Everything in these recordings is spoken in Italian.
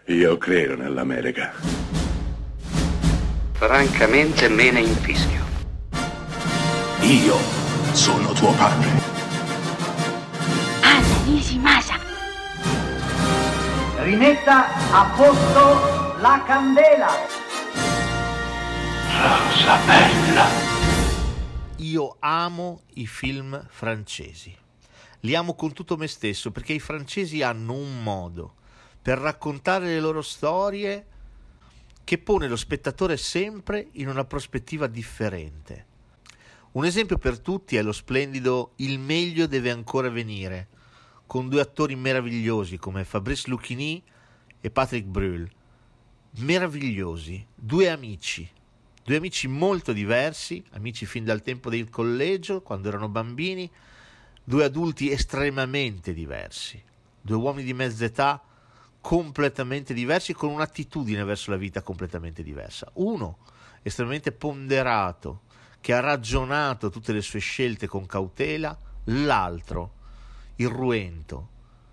Io credo nell'America. Francamente me ne infischio. Io sono tuo padre. Anna Nishimasa. Rimetta a posto la candela. Rosa bella. Io amo i film francesi. Li amo con tutto me stesso perché i francesi hanno un modo per raccontare le loro storie che pone lo spettatore sempre in una prospettiva differente. Un esempio per tutti è lo splendido Il meglio deve ancora venire, con due attori meravigliosi come Fabrice Lucchini e Patrick Brühl. Meravigliosi, due amici molto diversi, amici fin dal tempo del collegio, quando erano bambini, due adulti estremamente diversi, due uomini di mezza età completamente diversi, con un'attitudine verso la vita completamente diversa. Uno estremamente ponderato, che ha ragionato tutte le sue scelte con cautela, l'altro irruento,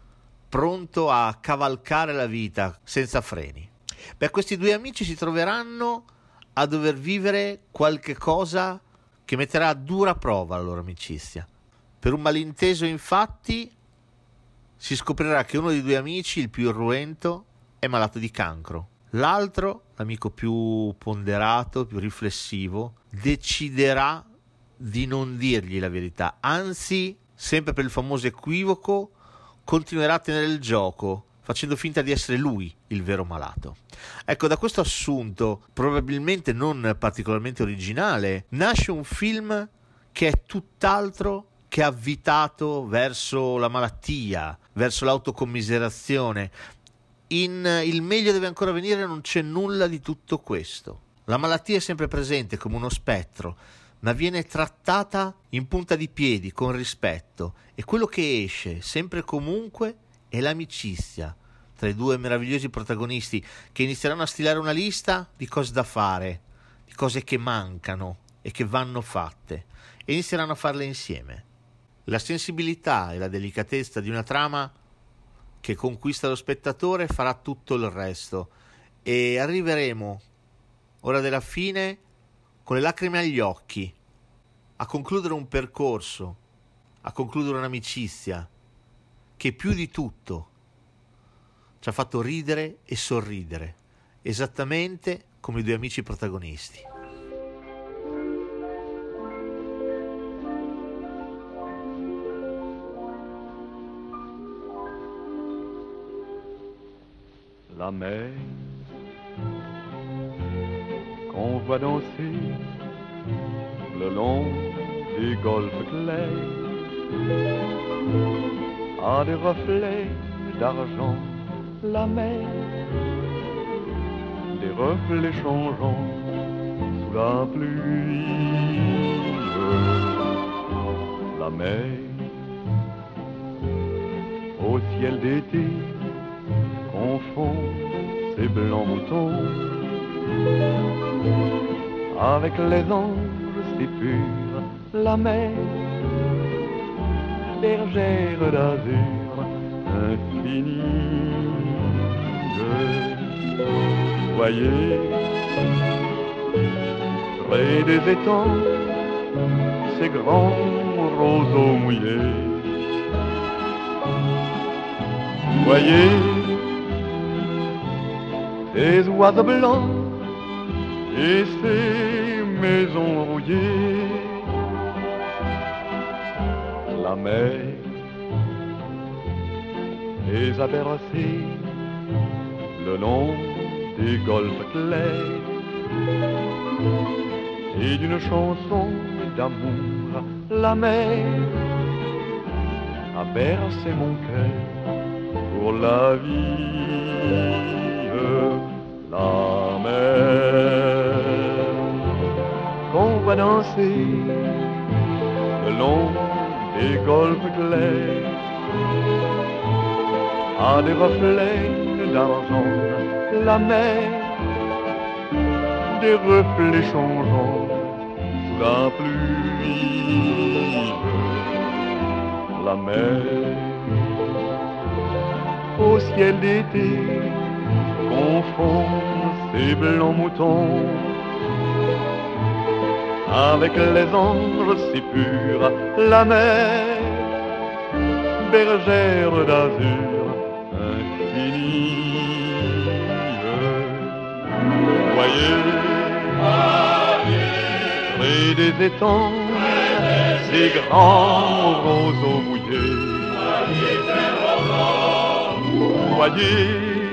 pronto a cavalcare la vita senza freni. Beh, questi due amici si troveranno a dover vivere qualche cosa che metterà a dura prova la loro amicizia. Per un malinteso, infatti, si scoprirà che uno dei due amici, il più irruento, è malato di cancro. L'altro, l'amico più ponderato, più riflessivo, deciderà di non dirgli la verità. Anzi, sempre per il famoso equivoco, continuerà a tenere il gioco, facendo finta di essere lui il vero malato. Ecco, da questo assunto, probabilmente non particolarmente originale, nasce un film che è tutt'altro che avvitato verso la malattia, verso l'autocommiserazione. In Il meglio deve ancora venire non c'è nulla di tutto questo. La malattia è sempre presente come uno spettro, ma viene trattata in punta di piedi, con rispetto, e quello che esce, sempre e comunque, è l'amicizia tra i due meravigliosi protagonisti, che inizieranno a stilare una lista di cose da fare, di cose che mancano e che vanno fatte, e inizieranno a farle insieme. La sensibilità e la delicatezza di una trama che conquista lo spettatore farà tutto il resto, e arriveremo, ora della fine, con le lacrime agli occhi, a concludere un percorso, a concludere un'amicizia che più di tutto ci ha fatto ridere e sorridere, esattamente come i due amici protagonisti. La mer qu'on voit danser le long des golfes clairs a des reflets d'argent. La mer, des reflets changeants sous la pluie. La mer, au ciel d'été, confond ses blancs moutons avec les anges si purs. La mer, bergère d'azur infinie. Voyez, près des étangs, ces grands roseaux mouillés. Voyez, ces oiseaux blancs et ces maisons rouillées. La mer les a bercés le long des golfes clairs et d'une chanson d'amour. La mer a bercé mon cœur pour la vie. La mer qu'on va danser le long des golfes clairs a des reflets d'argent. La mer, des reflets changeants sous la pluie. La mer, au ciel d'été, les blancs moutons, avec les anges si purs, la mer, bergère d'azur infinie. Voyez, près des étangs, ces grands roseaux mouillés. Voyez,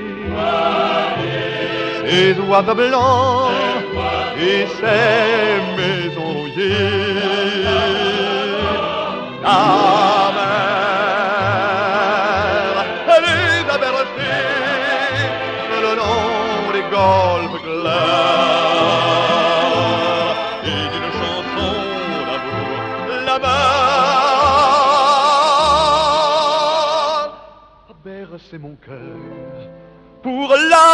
ces oiseaux blancs et ces maisons rouillées. La mer, elle les a bercées le long des golfes clairs et d'une chanson d'amour, la mer a bercé mon cœur pour la